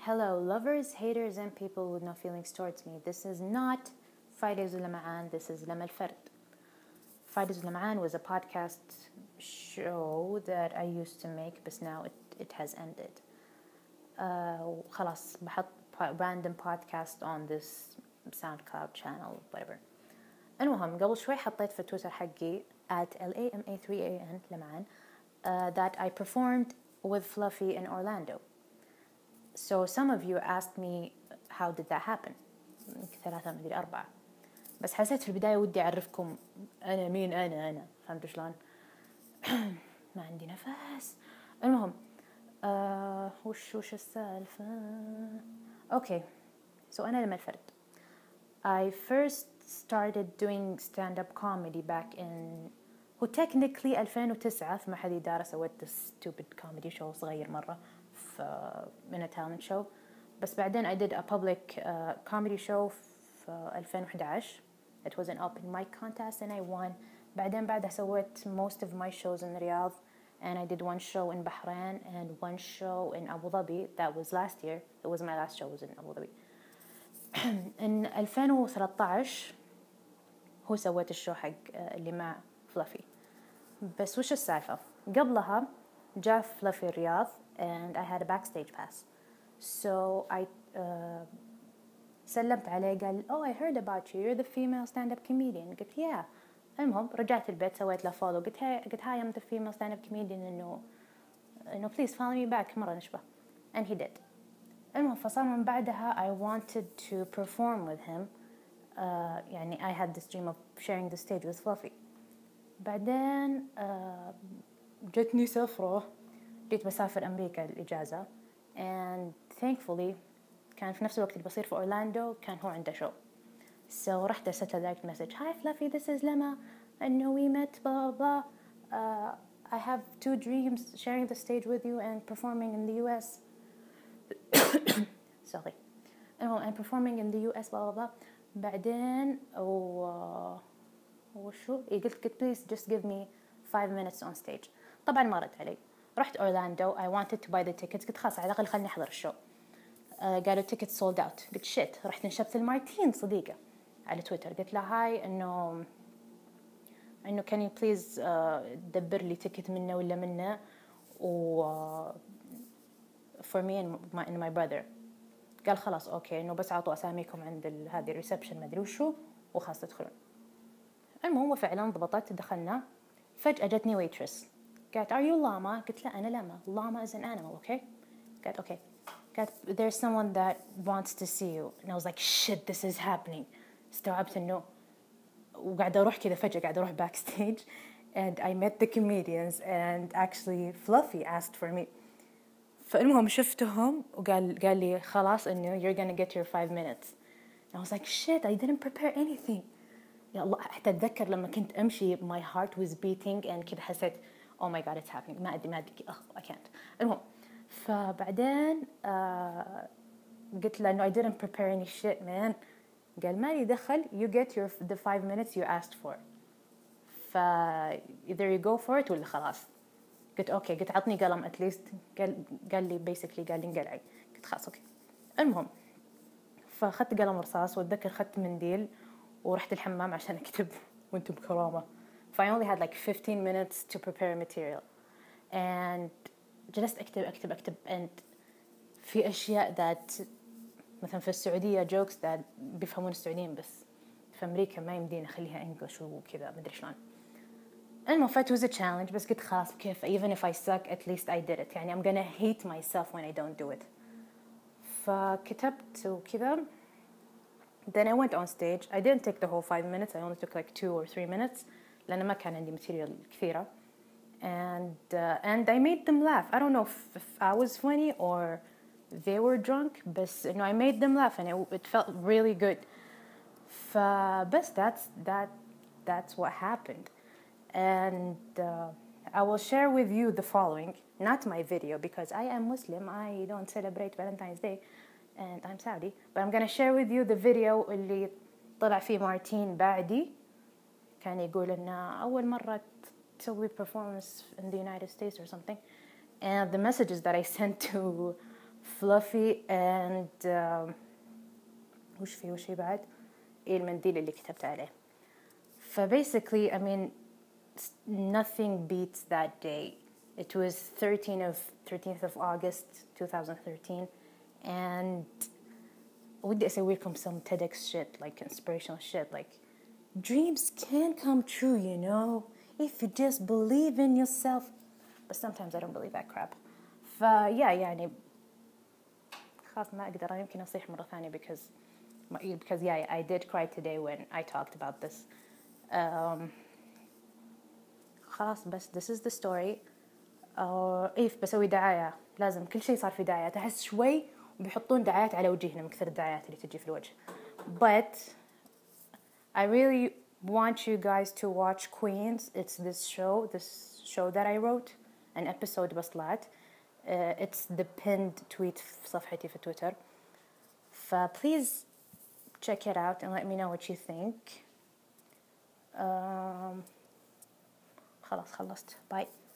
Hello, lovers, haters, and people with no feelings towards me. This is not Fridays with Lama'an, this is Lama Al-Fard. Fridays with Lama'an was a podcast show that I used to make, but now it has ended. خلاص بحط random podcast on this SoundCloud channel, whatever. المهم قبل شوي حطيت في تويتر حقي @LAMA3AN Lama'an that I performed with Fluffy in Orlando. So some of you asked me how did that happen. 3 مدري 4. بس حسيت في البداية ودي أعرفكم أنا مين أنا فهمتوا شلون؟ ما عندي نفس. المهم وش السالفة؟ Okay, so أنا لما الفرد. I first started doing stand-up comedy back in هو technically 2009 في محلي دار سويت stupid comedy show صغير مرة من a talent show. بس بعدين I did a public comedy show في 2011. It was an open mic contest and I won. بعدها سويت most of my shows in Riyadh, and I did one show in Bahrain and one show in Abu Dhabi. That was last year. It was my last show was in Abu Dhabi. in 2013 هو سويت الشو حق اللي مع فلافي. بس وش السالفة؟ قبلها جاء فلافي الرياض and I had a backstage pass. So I سلمت عليه قال oh I heard about you, you're the female stand-up comedian. قلت yeah. المهم رجعت البيت سويت له follow قلت hi I'm the female stand-up comedian إنه please follow me back مرة نشبه. And he did. المهم فصار من بعدها I wanted to perform with him. يعني I had this dream of sharing the stage with Fluffy. بعدين جتني سفرة جيت بسافر أمريكا الإجازة and thankfully كان في نفس الوقت اللي بصير في أورلاندو كان هو عنده شو. So رحت أرسلت direct message hi Fluffy this is Lama إنه we met blah blah I have 2 dreams sharing the stage with you and performing in the US sorry and performing in the US blah blah blah. بعدين وشو قلت please just give me 5 minutes on stage. طبعا ما رد علي. رحت أورلاندو I wanted to buy the tickets قلت خلاص على الأقل خلني أحضر الشو. قالوا tickets sold out. قلت shit. رحت نشبت المارتين صديقة على تويتر قلت لها هاي إنه can you please دبر لي ticket منه ولا منه for me and my brother. قال خلاص أوكي إنه بس عطوا أساميكم عند هذه الريسبشن ما أدري وشو وخلاص تدخلون. المهم وفعلا ضبطت دخلنا. فجأة جتني ويترس قالت are you llama؟ قلت لا أنا llama. llama is an animal okay. قالت okay. قالت there's someone that wants to see you and I was like shit this is happening. استوعبت إنه وقاعدة أروح كذا فجأة قاعدة أروح backstage and I met the comedians and actually Fluffy asked for me. فالمهم شفتهم وقال لي خلاص إنه you're gonna get your 5 minutes. and I was like shit I didn't prepare anything. يا الله حتى أتذكر لما كنت أمشي my heart was beating and كده حسيت oh my god it's happening ما أدري I can't. المهم فبعدين قلت له no I didn't prepare any shit man. قال مالي دخل you get the 5 minutes you asked for. either you go for it ولا خلاص. قلت أوكي. قلت عطني قلم at least. قال لي basically قال لي انقلعي. قلت خلاص أوكي. المهم فأخذت قلم رصاص وأتذكر أخذت منديل ورحت الحمام عشان أكتب وأنتم بكرامة. I only had like 15 minutes to prepare material and جلست أكتب and في أشياء that مثلا في السعودية jokes that بيفهمون السعوديين بس في أمريكا ما يمدين أخليها English وكذا مدري شلون. المهم it was a challenge بس قلت خلاص كيف even if I suck at least I did it يعني I'm gonna hate myself when I don't do it. فكتبت وكذا. Then I went on stage. I didn't take the whole 5 minutes. I only took like 2 or 3 minutes لأن ما كان عندي material كثيرة. And I made them laugh. I don't know if I was funny or they were drunk but you know I made them laugh and it felt really good. فبس that's what happened. And I will share with you the following, not my video because I am Muslim. I don't celebrate Valentine's Day and I'm Saudi, but I'm gonna share with you the video اللي طلع فيه مارتين بعدي كان يقول إنه أول مرة تسوي performance in the United States or something, and the messages that I sent to fluffy and وش في بعد المنديل اللي كتبت عليه. basically I mean nothing beats that day. It was 13th of August 2013 and ودي أسوي لكم some TEDx shit, like inspirational shit, like dreams can come true, you know, if you just believe in yourself. But sometimes I don't believe that crap. يعني خلاص ما أقدر يمكن أصيح مرة ثانية because yeah, I did cry today when I talked about this. خلاص بس this is the story. بسوي دعاية، لازم كل شيء صار في دعايات، أحس شوي بيحطون دعايات على وجهنا من كثر الدعايات اللي تجي في الوجه. But I really want you guys to watch Queens. It's this show that I wrote, an episode بس it's the pinned tweet في صفحتي في تويتر. Please check it out and let me know what you think. خلاص خلصت. Bye.